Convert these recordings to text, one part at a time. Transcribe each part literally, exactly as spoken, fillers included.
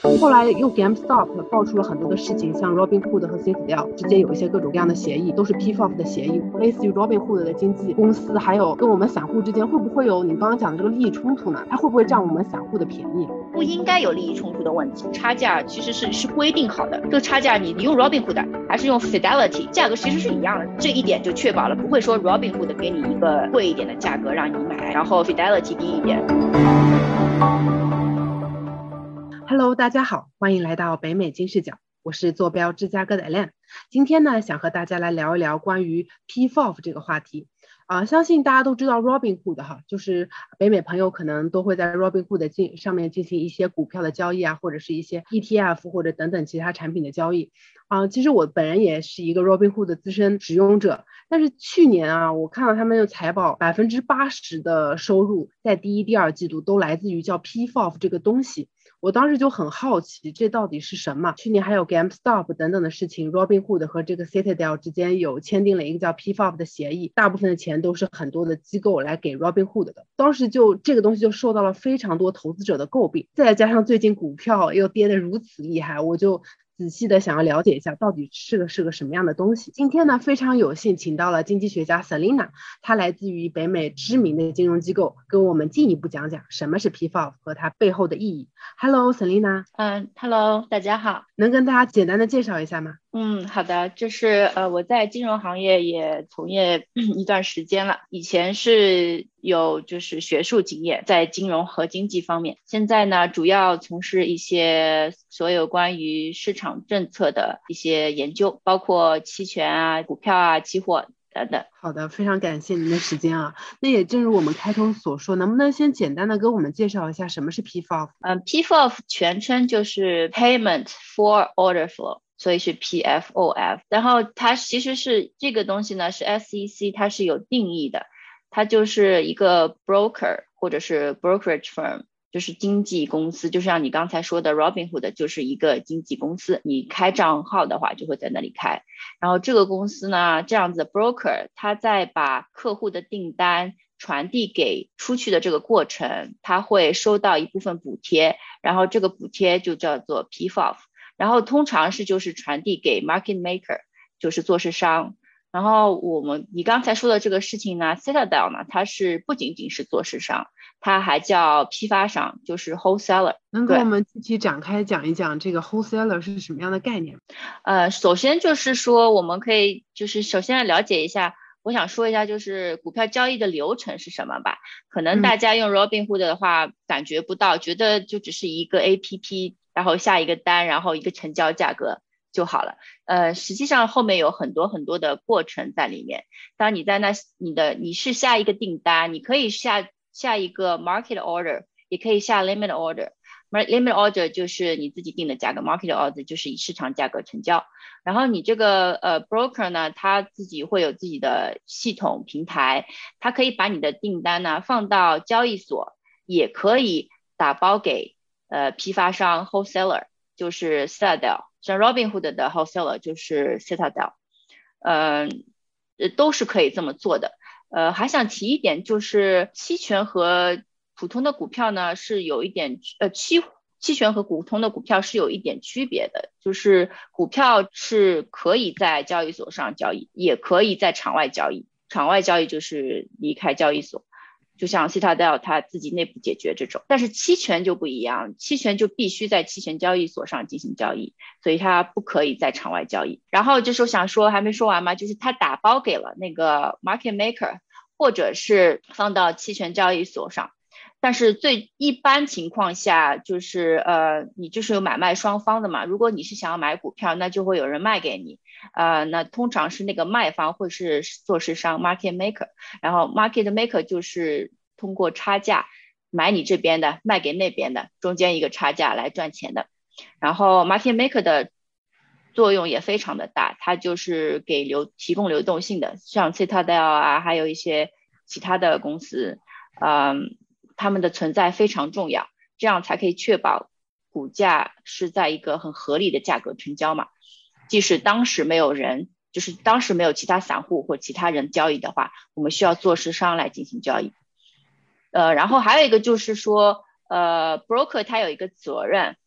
后来又 GameStop 爆出了很多的事情，像 Robinhood 和 Citadel 之间有一些各种各样的协议，都是 P F O F 的协议，类似于 Robinhood 的经纪公司，还有跟我们散户之间会不会有你刚刚讲的这个利益冲突呢？它会不会占我们散户的便宜？ 不应该有利益冲突的问题，差价其实是是规定好的，这个差价你你用 Robinhood 还是用 Fidelity， 价格其实是一样的，这一点就确保了不会说 Robinhood 给你一个贵一点的价格让你买，然后 Fidelity 低一点。 Hello， 大家好，欢迎来到北美金视角，我是坐标芝加哥的 Elaine。今天呢，想和大家来聊一聊关于 P F O F 这个话题。啊、呃，相信大家都知道 Robinhood 哈，就是北美朋友可能都会在 Robinhood 进上面进行一些股票的交易啊，或者是一些 E T F 或者等等其他产品的交易。啊、呃，其实我本人也是一个 Robinhood 的资深使用者，但是去年啊，我看到他们的财报，百分之八十的收入在第一、第二季度都来自于叫 P F O F 这个东西。我当时就很好奇，这到底是什么？去年还有 GameStop 等等的事情 ，Robinhood 和这个 Citadel 之间有签订了一个叫 P F O F 的协议，大部分的钱都是很多的机构来给 Robinhood 的。当时就这个东西就受到了非常多投资者的诟病，再加上最近股票又跌得如此厉害，我就仔细的想要了解一下到底是个是个什么样的东西。今天呢，非常有幸请到了经济学家 Selina， 她来自于北美知名的金融机构，跟我们进一步讲讲什么是 P F O F 和它背后的意义。Hello Selina。 嗯 ，Hello， 大家好。 能跟大家简单的介绍一下吗？ 嗯，好的，就是呃，我在金融行业也从业一段时间了，以前是有就是学术经验在金融和经济方面，现在呢主要从事一些所有关于市场政策的一些研究，包括期权啊、股票啊、期货等等。 好的，非常感谢您的时间啊。那也正如我们开头所说，能不能先简单的跟我们介绍一下什么是 P F O F？ 嗯 ，P F O F 全称就是 Payment for Order Flow，所以是 P F O F， 然后它其实是这个东西呢是 S E C 它是有定义的，它就是一个 broker 或者是 brokerage firm， 就是经纪公司，就像你刚才说的 Robinhood 就是一个经纪公司，你开账号的话就会在那里开，然后这个公司呢这样子的 broker， 它在把客户的订单传递给出去的这个过程，它会收到一部分补贴，然后这个补贴就叫做 P F O F，然后通常是就是传递给 market maker， 就是做市商。然后我们你刚才说的这个事情呢 Citadel 呢，它是不仅仅是做市商，它还叫批发商，就是 wholesaler。 能跟我们具体展开讲一讲这个 wholesaler 是什么样的概念？ 呃，首先就是说我们可以就是首先来了解一下，我想说一下就是股票交易的流程是什么吧。可能大家用 Robinhood 的话感觉不到，觉得就只是一个 A P P， 然后下一个单，然后一个成交价格就好了。呃，实际上后面有很多很多的过程在里面。当你在那你的你是下一个订单，你可以下下一个 market order， 也可以下 limit order。limit order 就是你自己定的价格， market order 就是以市场价格成交。然后你这个呃 broker 呢，他自己会有自己的系统平台，他可以把你的订单呢放到交易所，也可以打包给呃批发商 wholesaler， 就是 Citadel， 像 Robinhood 的 wholesaler 就是 Citadel， 嗯、呃，都是可以这么做的。呃，还想提一点，就是期权和普通的股票呢是有一点呃期期权和普通的股票是有一点区别的，就是股票是可以在交易所上交易，也可以在场外交易，场外交易就是离开交易所，就像 Citadel 它自己内部解决这种。但是期权就不一样，期权就必须在期权交易所上进行交易，所以它不可以在场外交易。然后就是我想说还没说完嘛，就是它打包给了那个 market maker， 或者是放到期权交易所上。但是最一般情况下就是呃，你就是有买卖双方的嘛。如果你是想要买股票，那就会有人卖给你，呃，那通常是那个卖方会是做市商 market maker， 然后 market maker 就是通过差价买你这边的，卖给那边的，中间一个差价来赚钱的。然后 market maker 的作用也非常的大，它就是给流提供流动性的，像 Citadel 啊，还有一些其他的公司，嗯。他们的存在非常重要，这样才可以确保股价是在一个很合理的价格成交嘛。即使当时没有人，就是当时没有其他散户或其他人交易的话，我们需要做市商来进行交易。呃，然后还有一个就是说，呃 ，broker 他有一个责任，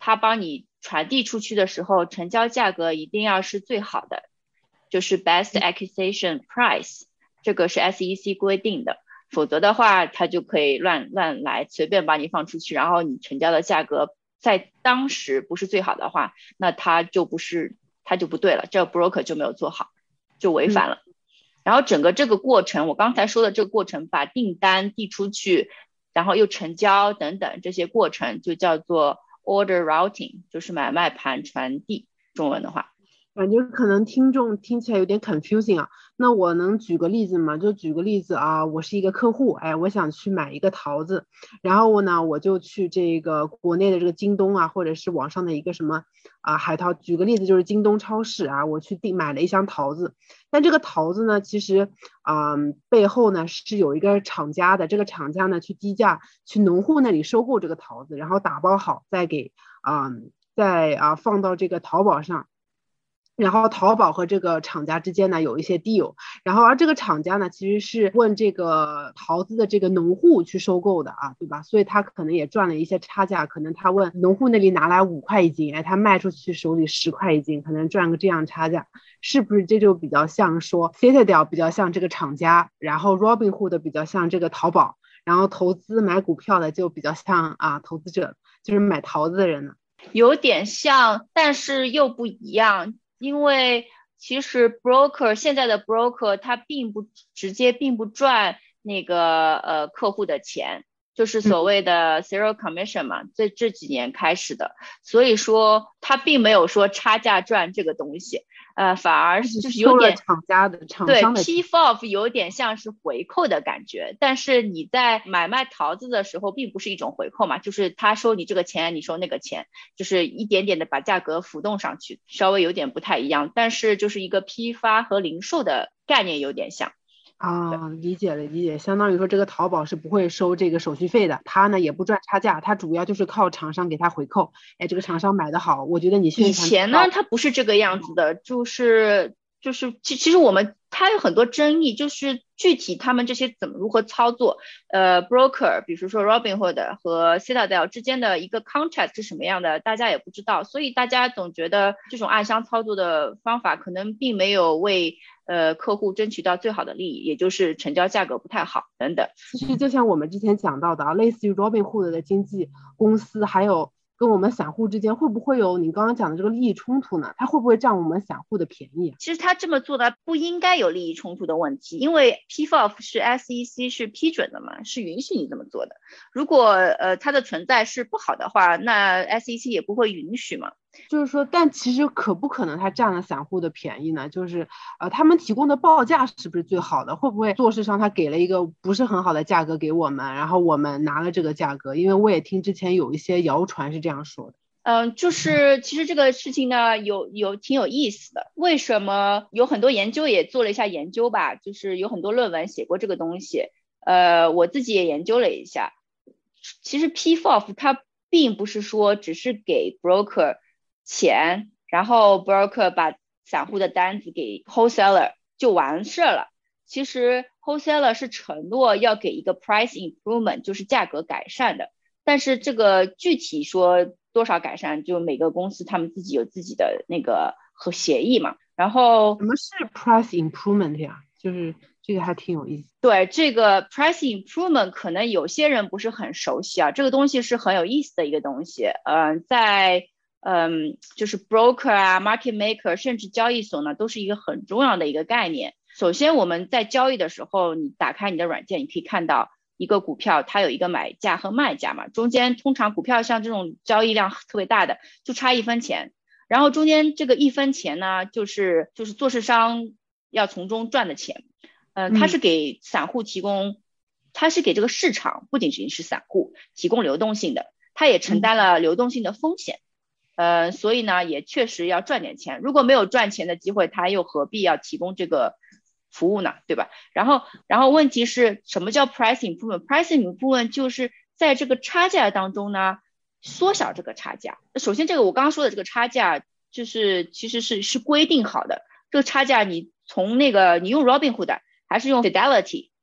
它帮你传递出去的时候，成交价格一定要是最好的，就是 best acquisition price， 这个是 S E C 规定的，否则的话它就可以乱乱来，随便把你放出去，然后你成交的价格在当时不是最好的话，那它就不是它就不对了，这个 broker 就没有做好，就违反了。嗯，然后整个这个过程，我刚才说的这个过程，把订单递出去，然后又成交等等这些过程，就叫做 order routing， 就是买卖盘传递，中文的话。 感觉可能听众听起来有点 confusing 啊，那我能举个例子吗？就举个例子啊，我是一个客户，哎，我想去买一个桃子，然后我呢，我就去这个国内的这个京东啊，或者是网上的一个什么啊海淘，举个例子就是京东超市啊，我去订买了一箱桃子，但这个桃子呢，其实啊、嗯、背后呢是有一个厂家的，这个厂家呢去低价去农户那里收购这个桃子，然后打包好再给啊、嗯、再啊放到这个淘宝上。然后淘宝和这个厂家之间呢有一些 deal， 然后而这个厂家呢其实是问这个桃子的这个农户去收购的啊，对吧？所以他可能也赚了一些差价，可能他问农户那里拿来五块一斤，哎，他卖出去手里十块一斤，可能赚个这样差价，是不是这就比较像说 Citadel 比较像这个厂家，然后 Robinhood 比较像这个淘宝，然后投资买股票的就比较像啊投资者，就是买桃子的人呢？ 有点像，但是又不一样。因为其实 broker 现在的 broker 他并不直接并不赚那个呃客户的钱，就是所谓的 zero commission 嘛，这这几年开始的，所以说他并没有说差价赚这个东西，呃，反而就是有点厂家的厂对商的 P F O F 有点像是回扣的感觉，但是你在买卖桃子的时候并不是一种回扣嘛，就是他收你这个钱，你收那个钱，就是一点点的把价格浮动上去，稍微有点不太一样，但是就是一个批发和零售的概念有点像。 啊，理解了理解，相当于说这个淘宝是不会收这个手续费的，他呢也不赚差价，他主要就是靠厂商给他回扣。哎，这个厂商买的好，我觉得你宣传以前呢，它不是这个样子的，就是就是其其实我们它有很多争议，就是具体他们这些怎么如何操作，呃，broker， 比如说 Robinhood 和 Citadel 之间的一个 contract 是什么样的，大家也不知道，所以大家总觉得这种暗箱操作的方法可能并没有为呃客户争取到最好的利益，也就是成交价格不太好等等。 其实就像我们之前讲到的啊，类似于 Robinhood 的经纪公司，还有跟我们散户之间会不会有你刚刚讲的这个利益冲突呢？它会不会占我们散户的便宜？ 其实他这么做的不应该有利益冲突的问题，因为 P F O F 是 S E C 是批准的嘛，是允许你这么做的。如果呃它的存在是不好的话，那 S E C 也不会允许嘛。 就是说，但其实可不可能他占了散户的便宜呢？就是呃，他们提供的报价是不是最好的？会不会做市上他给了一个不是很好的价格给我们，然后我们拿了这个价格？因为我也听之前有一些谣传是这样说的。 嗯，就是其实这个事情呢，有有挺有意思的。为什么有很多研究也做了一下研究吧，就是有很多论文写过这个东西。呃，我自己也研究了一下，其实 P F O F 它并不是说只是给 broker 钱，然后 broker 把散户的单子给 wholesaler 就完事了。其实 wholesaler 是承诺要给一个 price improvement， 就是价格改善的。但是这个具体说多少改善，就每个公司他们自己有自己的那个和协议嘛。然后什么是 price improvement 呀？就是这个还挺有意思。 对，这个 price improvement 可能有些人不是很熟悉啊，这个东西是很有意思的一个东西。嗯、呃，在嗯，就是 broker 啊 market maker 甚至交易所呢，都是一个很重要的一个概念。首先我们在交易的时候，你打开你的软件，你可以看到一个股票它有一个买价和卖价嘛，中间通常股票像这种交易量特别大的就差一分钱，然后中间这个一分钱呢，就是就是做市商要从中赚的钱。嗯、呃，它是给散户提供、嗯、它是给这个市场不仅仅是散户提供流动性的，它也承担了流动性的风险。呃，所以呢，也确实要赚点钱。如果没有赚钱的机会，他又何必要提供这个服务呢？对吧？然后，然后问题是什么叫 price improvement？price improvement 就是在这个差价当中呢，缩小这个差价。首先，这个我刚刚说的这个差价，就是其实是是规定好的。这个差价你从那个你用 Robinhood 还是用 Fidelity，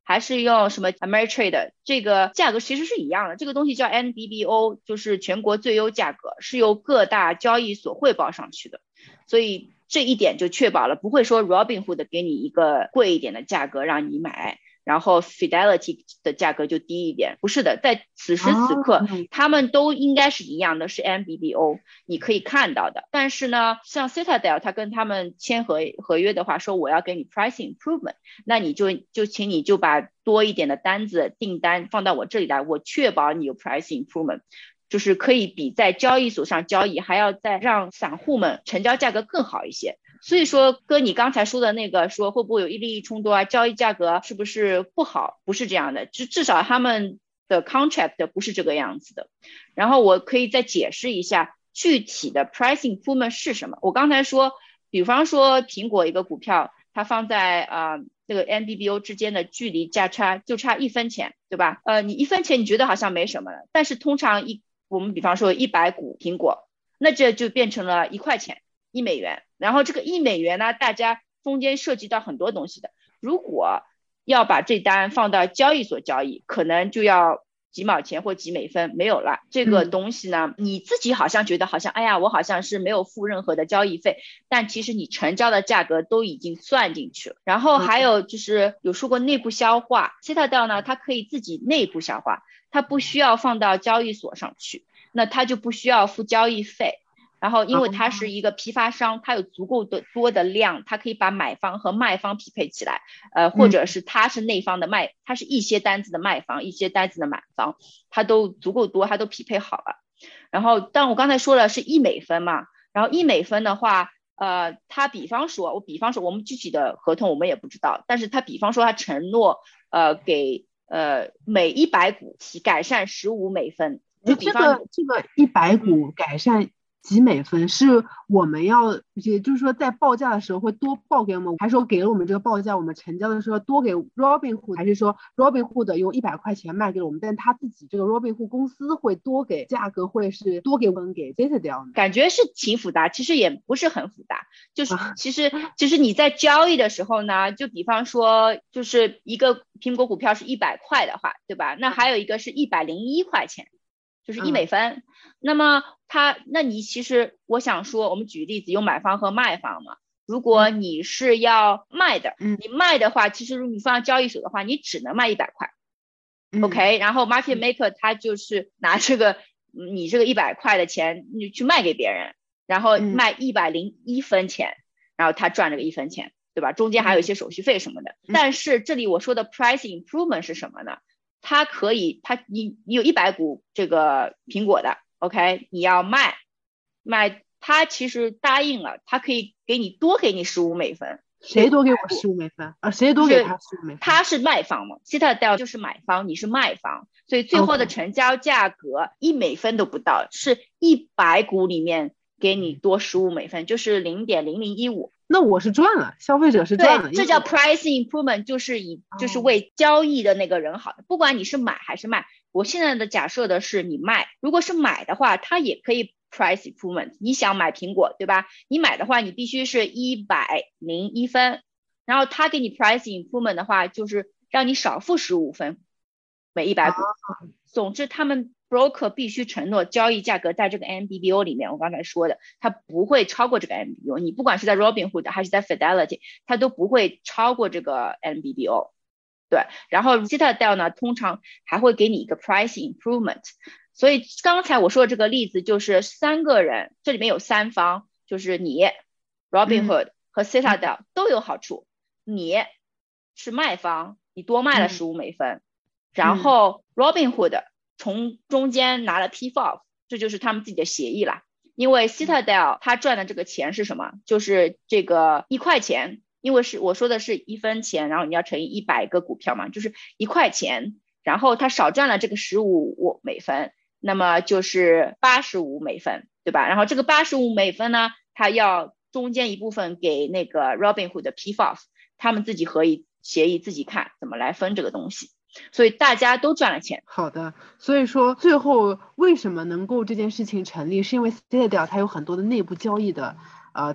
还是用什么 Ameritrade， 这个价格其实是一样的，这个东西叫 N B B O， 就是全国最优价格，是由各大交易所汇报上去的，所以这一点就确保了不会说 Robinhood 给你一个贵一点的价格让你买，然后 Fidelity 的价格就低一点，不是的，在此时此刻、哦、他们都应该是一样的，是 N B B O 你可以看到的。但是呢，像 Citadel 他跟他们签合合约的话，说我要给你 pricing improvement， 那你就就请你就把多一点的单子订单放到我这里来，我确保你有 pricing improvement，就是可以比在交易所上交易还要再让散户们成交价格更好一些。所以说哥你刚才说的那个说会不会有利益冲突啊，交易价格是不是不好，不是这样的，至至少他们的 contract 不是这个样子的。然后我可以再解释一下具体的 pricing improvement 是什么。我刚才说比方说苹果一个股票它放在呃这个 N B B O 之间的距离价差就差一分钱，对吧？呃，你一分钱你觉得好像没什么了，但是通常一我们比方说一百股苹果，那这就变成了一块钱，一美元。然后这个一美元呢，大家中间涉及到很多东西的。如果要把这单放到交易所交易，可能就要几毛钱或几美分没有了。这个东西呢、嗯、你自己好像觉得好像哎呀我好像是没有付任何的交易费，但其实你成交的价格都已经算进去了。然后还有就是有说过内部消化， Citadel 呢它可以自己内部消化，它不需要放到交易所上去，那它就不需要付交易费。然后因为它是一个批发商，它有足够的多的量，它可以把买方和卖方匹配起来，呃，或者是它是内方的卖，它是一些单子的卖方，一些单子的买方，它都足够多，它都匹配好了。然后但我刚才说了是一美分嘛，然后一美分的话呃，他比方说我比方说我们具体的合同我们也不知道，但是他比方说他承诺呃给呃每一百股改善十五美分，就比方、 这个这个一百股改善几美分是我们要，也就是说在报价的时候会多报给我们，还是说给了我们这个报价我们成交的时候多给 Robinhood， 还是说 Robinhood 用一百块钱卖给我们，但他自己这个 Robinhood 公司会多给价格会是多给分给 Citadel？ 感觉是挺复杂，其实也不是很复杂，就是其实其实你在交易的时候呢，就比方说就是一个苹果股票是一百块的话，对吧？那还有一个是一百零一块钱，就是一美分、嗯、那么它那你其实我想说我们举例子有买方和卖方嘛，如果你是要卖的、嗯、你卖的话其实如果你放到交易所的话你只能卖一百块、嗯、OK， 然后 market maker 他就是拿这个你这个一百块的钱你去卖给别人，然后卖一百零一分钱、嗯、然后他赚这个一分钱，对吧？中间还有一些手续费什么的、嗯、但是这里我说的 price improvement 是什么呢？它可以，它你你有一百股这个苹果的 ，OK， 你要卖卖，它其实答应了，它可以给你多给你十五美分。 谁多给我十五美分啊？谁多给他十五美分？ 他是卖方嘛 ，Citadel 就是买方，你是卖方，所以最后的成交价格一美分都不到， okay. 是一百股里面给你多十五美分，就是零点零零一五。 那我是赚了，消费者是赚了， 对，这叫 price improvement， 就是以就是为交易的那个人好的、哦、不管你是买还是卖。我现在的假设的是你卖，如果是买的话它也可以 price improvement， 你想买苹果对吧，你买的话你必须是一百零一分，然后他给你 price improvement 的话就是让你少付十五分每一百股、哦、总之他们broker 必须承诺交易价格在这个 N B B O 里面，我刚才说的它不会超过这个 N B B O， 你不管是在 Robinhood 还是在 Fidelity 它都不会超过这个 N B B O。 对，然后 Citadel 呢通常还会给你一个 price improvement， 所以刚才我说的这个例子就是三个人，这里面有三方，就是你 Robinhood、嗯、和 Citadel 都有好处，你是卖方你多卖了十五美分、嗯、然后 Robinhood从中间拿了 P F O F， 这就是他们自己的协议啦。因为 Citadel 他赚的这个钱是什么？就是这个一块钱，因为是我说的是一分钱，然后你要乘以一百个股票嘛，就是一块钱，然后他少赚了这个十五美分，那么就是八十五美分，对吧？然后这个八十五美分呢，他要中间一部分给那个 Robinhood 的 P F O F， 他们自己可以协议自己看怎么来分这个东西。所以大家都赚了钱。 好的，所以说最后为什么能够这件事情成立，是因为 Citadel 它有很多的内部交易的呃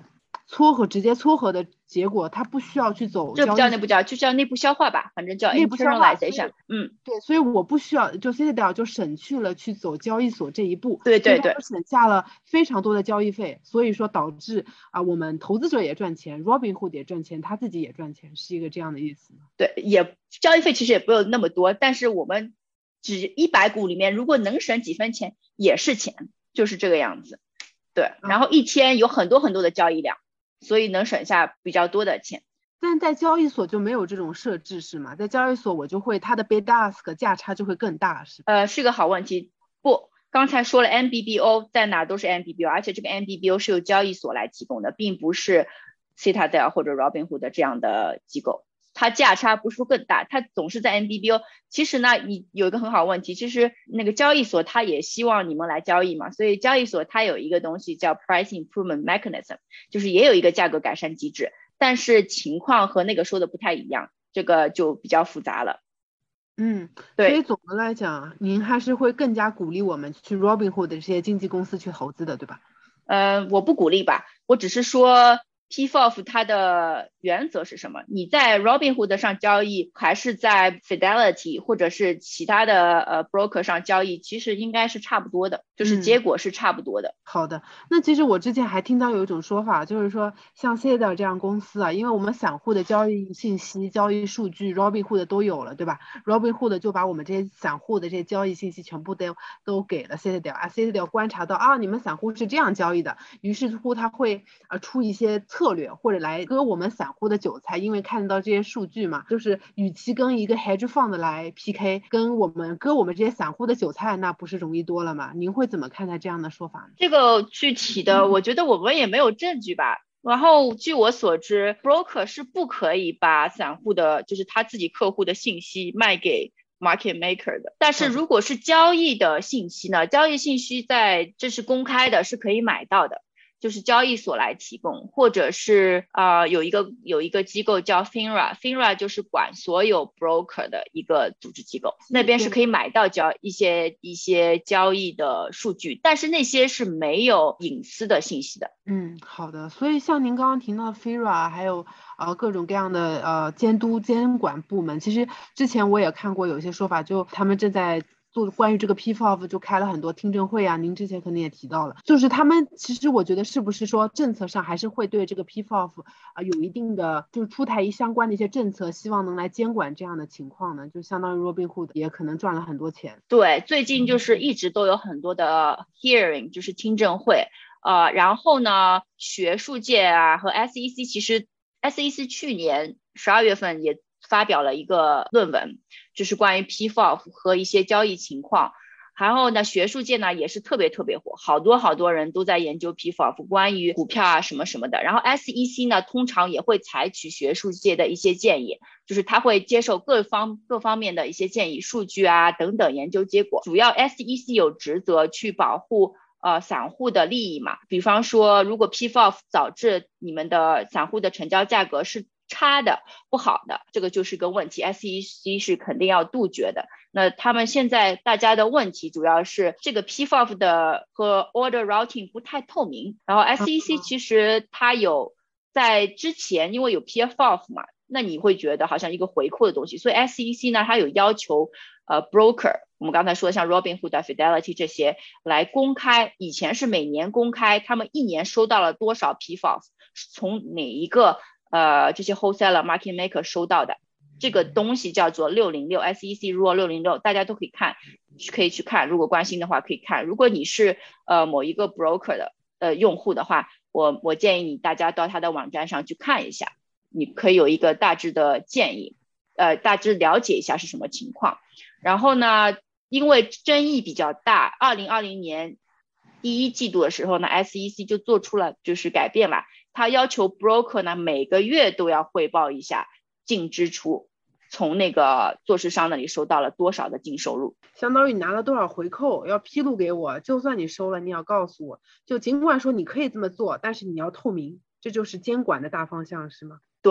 撮合直接撮合的结果，它不需要去走这不叫交易内部交易，就叫内部消化吧，反正叫内部消化， internalization。嗯， 对，所以我不需要，就 Citadel 就省去了去走交易所这一步， 对对对， 省下了非常多的交易费，所以说导致啊、我们投资者也赚钱 ，Robinhood 也赚钱，他自己也赚钱，是一个这样的意思吗？ 对，也交易费其实也不有那么多，但是我们只一百股里面，如果能省几分钱也是钱，就是这个样子。对，然后一天有很多很多的交易量，所以能省下比较多的钱。 但在交易所就没有这种设置是吗？在交易所我就会它的 bid ask 价差就会更大是吧？ 呃，是个好问题。不，刚才说了 M B B O 在哪都是 M B B O， 而且这个 M B B O 是由交易所来提供的，并不是 Citadel 或者 Robinhood 这样的机构。它价差不是说更大，它总是在 M B B O。其实呢，你有一个很好的问题，其实那个交易所它也希望你们来交易嘛，所以交易所它有一个东西叫 Price Improvement Mechanism， 就是也有一个价格改善机制，但是情况和那个说的不太一样，这个就比较复杂了。 嗯， 对， 所以总的来讲，您还是会更加鼓励我们去 Robinhood 这些经纪公司去投资的，对吧？ 呃，我不鼓励吧，我只是说 P F O F 它的原则是什么？你在 Robinhood 上交易，还是在 Fidelity 或者是其他的呃 broker 上交易，其实应该是差不多的，就是结果是差不多的。 嗯、好的，那其实我之前还听到有一种说法，就是说像 Citadel 这样公司啊，因为我们散户的交易信息、交易数据 Robinhood 都有了，对吧 ？Robinhood 就把我们这些散户的这些交易信息全部都都给了 Citadel 啊 ，Citadel 观察到啊，你们散户是这样交易的，于是乎他会呃出一些策略或者来割我们散户的韭菜，因为看到这些数据嘛，就是与其跟一个 hedge fund 来 P K， 跟我们割我们这些散户的韭菜，那不是容易多了吗？您会怎么看待这样的说法呢？ 这个具体的，我觉得我们也没有证据吧。然后据我所知 ，broker 是不可以把散户的，就是他自己客户的信息卖给 market maker 的。但是如果是交易的信息呢，交易信息在这是公开的，是可以买到的。就是交易所来提供，或者是啊、呃、有一个有一个机构叫 FINRA，FINRA 就是管所有 broker 的一个组织机构，那边是可以买到交一些一些交易的数据，但是那些是没有隐私的信息的。 嗯，好的。所以像您刚刚提到 FINRA 还有呃各种各样的呃监督监管部门，其实之前我也看过有些说法，就他们正在做关于这个 P F O F 就开了很多听证会啊，您之前可能也提到了，就是他们其实我觉得是不是说政策上还是会对这个 P F O F 啊、呃、有一定的就是出台一相关的一些政策，希望能来监管这样的情况呢？就相当于 Robinhood 也可能赚了很多钱。 对，最近就是一直都有很多的 hearing， 就是听证会，呃，然后呢，学术界啊和 S E C 其实 S E C 去年十二月份也发表了一个论文，就是关于 P F O F 和一些交易情况。然后呢，学术界呢也是特别特别火，好多好多人都在研究 P F O F 关于股票啊什么什么的。然后 S E C 呢通常也会采取学术界的一些建议，就是他会接受各方各方面的一些建议、数据啊等等研究结果。主要 S E C 有职责去保护呃散户的利益嘛，比方说如果 P F O F 导致你们的散户的成交价格是差的不好的，这个就是个问题 ，S E C 是肯定要杜绝的。那他们现在大家的问题主要是这个 P F O F 的和 order routing 不太透明，然后 S E C 其实它有在之前因为有 P F O F 嘛，那你会觉得好像一个回扣的东西，所以 S E C 呢它有要求呃 broker， 我们刚才说的像 Robinhood、Fidelity 这些来公开，以前是每年公开他们一年收到了多少 P F O F， 从哪一个呃这些 wholesaler market maker 收到的。这个东西叫做六零六 S E C Rule 六零六，大家都可以看，可以去看，如果关心的话可以看。如果你是呃某一个 broker 的呃用户的话，我我建议你大家到他的网站上去看一下，你可以有一个大致的建议，呃大致了解一下是什么情况。然后呢，因为争议比较大，二零二零年第一季度的时候呢 ，S E C 就做出了就是改变了，他要求 broker 呢每个月都要汇报一下净支出，从那个做市商那里收到了多少的净收入， 相当于你拿了多少回扣要披露给我，就算你收了你要告诉我，就尽管说你可以这么做，但是你要透明，这就是监管的大方向是吗？ 对。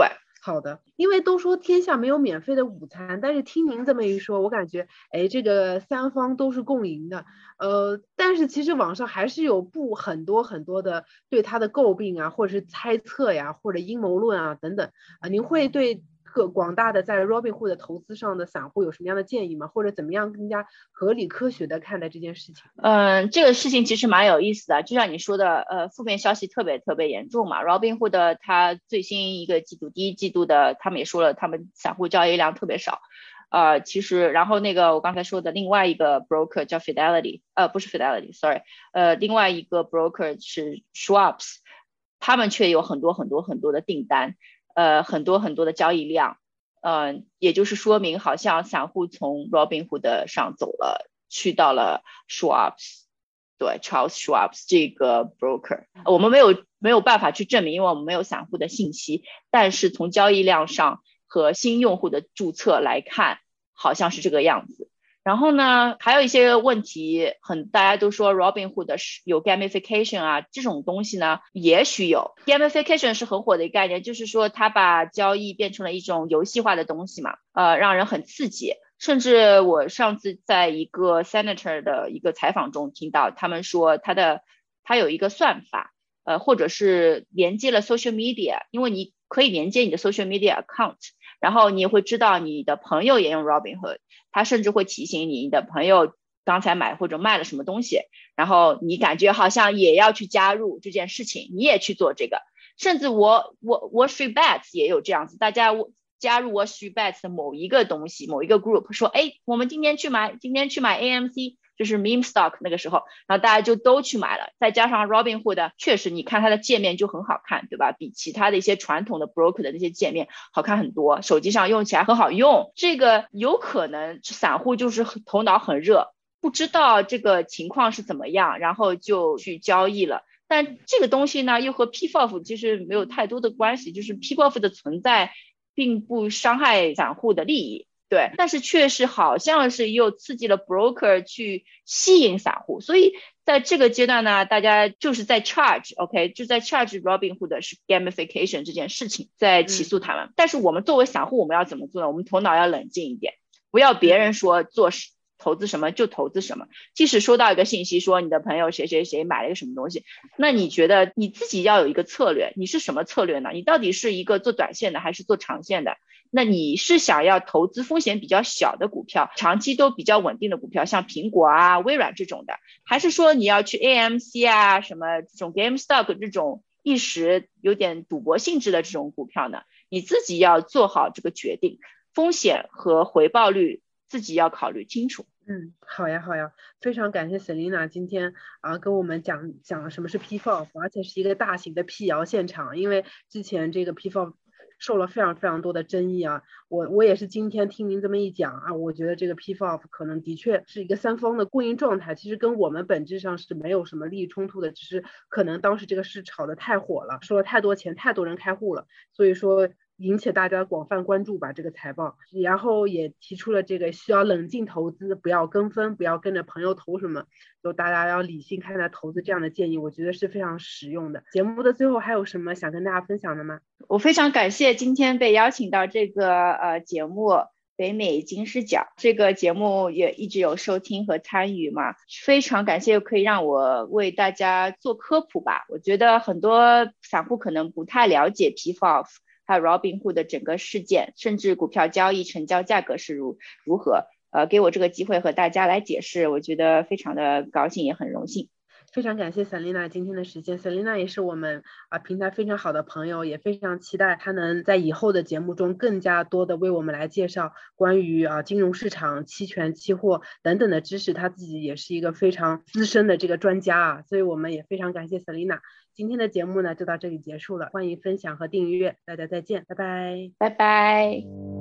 好的，因为都说天下没有免费的午餐，但是听您这么一说，我感觉，哎，这个三方都是共赢的。呃，但是其实网上还是有不很多很多的对他的诟病啊，或者是猜测呀，或者阴谋论啊等等啊。您会对各广大的在 Robinhood 的投资上的散户有什么样的建议吗？或者怎么样更加合理科学的看待这件事情？ 嗯，这个事情其实蛮有意思的，就像你说的，呃，负面消息特别特别严重嘛。Robinhood 它最新一个季度，第一季度的，他们也说了，他们散户交易量特别少。呃，其实，然后那个我刚才说的另外一个 broker 叫 Fidelity， 呃，不是 Fidelity，sorry， 呃，另外一个 broker 是 Schwab's， 他们却有很多很多很多的订单，呃，很多很多的交易量，呃，也就是说明好像散户从 Robinhood 上走了，去到了 Schwab's， 对 Charles Schwab's 这个 broker， 我们没有没有办法去证明，因为我们没有散户的信息，但是从交易量上和新用户的注册来看，好像是这个样子。然后呢，还有一些问题，很大家都说 Robinhood 有 gamification 啊，这种东西呢，也许有 gamification 是很火的一个概念，就是说它把交易变成了一种游戏化的东西嘛，呃，让人很刺激。甚至我上次在一个 senator 的一个采访中听到，他们说他的他有一个算法，呃，或者是连接了 social media， 因为你可以连接你的 social media account， 然后你也会知道你的朋友也用 Robinhood， 他甚至会提醒你的朋友刚才买或者卖了什么东西，然后你感觉好像也要去加入这件事情，你也去做这个。甚至我我 Wall Street Bets 也有这样子，大家加入 Wall Street Bets 的某一个东西，某一个 group 说，哎，我们今天去买，今天去买 A M C， 就是 meme stock 那个时候，然后大家就都去买了。再加上 Robinhood， 确实你看它的界面就很好看，对吧？比其他的一些传统的 broker 的那些界面好看很多，手机上用起来很好用。这个有可能散户就是头脑很热，不知道这个情况是怎么样，然后就去交易了。但这个东西呢，又和 P F O F 其实没有太多的关系，就是 P F O F 的存在并不伤害散户的利益，对，但是确实好像是又刺激了 broker 去吸引散户，所以在这个阶段呢，大家就是在 charge，OK， 就在 charge Robinhood 是 gamification 这件事情，在起诉他们。嗯、但是我们作为散户，我们要怎么做呢？我们头脑要冷静一点，不要别人说做事。投资什么就投资什么，即使收到一个信息说你的朋友谁谁谁买了一个什么东西，那你觉得你自己要有一个策略，你是什么策略呢？你到底是一个做短线的还是做长线的？那你是想要投资风险比较小的股票，长期都比较稳定的股票，像苹果啊、微软这种的，还是说你要去 A M C 啊、什么这种 GameStop 这种一时有点赌博性质的这种股票呢？你自己要做好这个决定，风险和回报率自己要考虑清楚。 嗯，好呀，好呀，非常感谢 Selina 今天啊跟我们讲讲什么是 P F O F， 而且是一个大型的辟谣现场，因为之前这个 P F O F 受了非常非常多的争议啊，我我也是今天听您这么一讲啊，我觉得这个 P F O F 可能的确是一个三方的共赢状态，其实跟我们本质上是没有什么利益冲突的，只是可能当时这个事炒得太火了，收了太多钱，太多人开户了，所以说引起大家广泛关注吧这个财报，然后也提出了这个需要冷静投资，不要跟风，不要跟着朋友投什么，就大家要理性看待投资这样的建议，我觉得是非常实用的。节目的最后还有什么想跟大家分享的吗？ 我非常感谢今天被邀请到这个呃节目北美金视角，这个节目也一直有收听和参与嘛，非常感谢可以让我为大家做科普吧。我觉得很多散户可能不太了解 P F O F还有 Robinhood 的整个事件，甚至股票交易成交价格是如如何，呃，给我这个机会和大家来解释，我觉得非常的高兴，也很荣幸。 非常感谢 Selina 今天的时间 ，Selina 也是我们啊平台非常好的朋友，也非常期待她能在以后的节目中更加多的为我们来介绍关于啊金融市场、期权、期货等等的知识，她自己也是一个非常资深的这个专家啊，所以我们也非常感谢 Selina。今天的节目呢就到这里结束了，欢迎分享和订阅，大家再见，拜拜， 拜拜。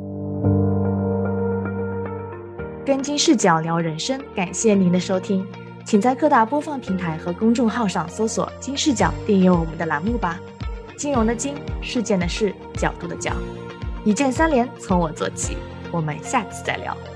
跟金视角聊人生，感谢您的收听。请在各大播放平台和公众号上搜索金视角，订阅我们的栏目吧。金融的金，事件的事，角度的角，一键三连，从我做起。我们下次再聊。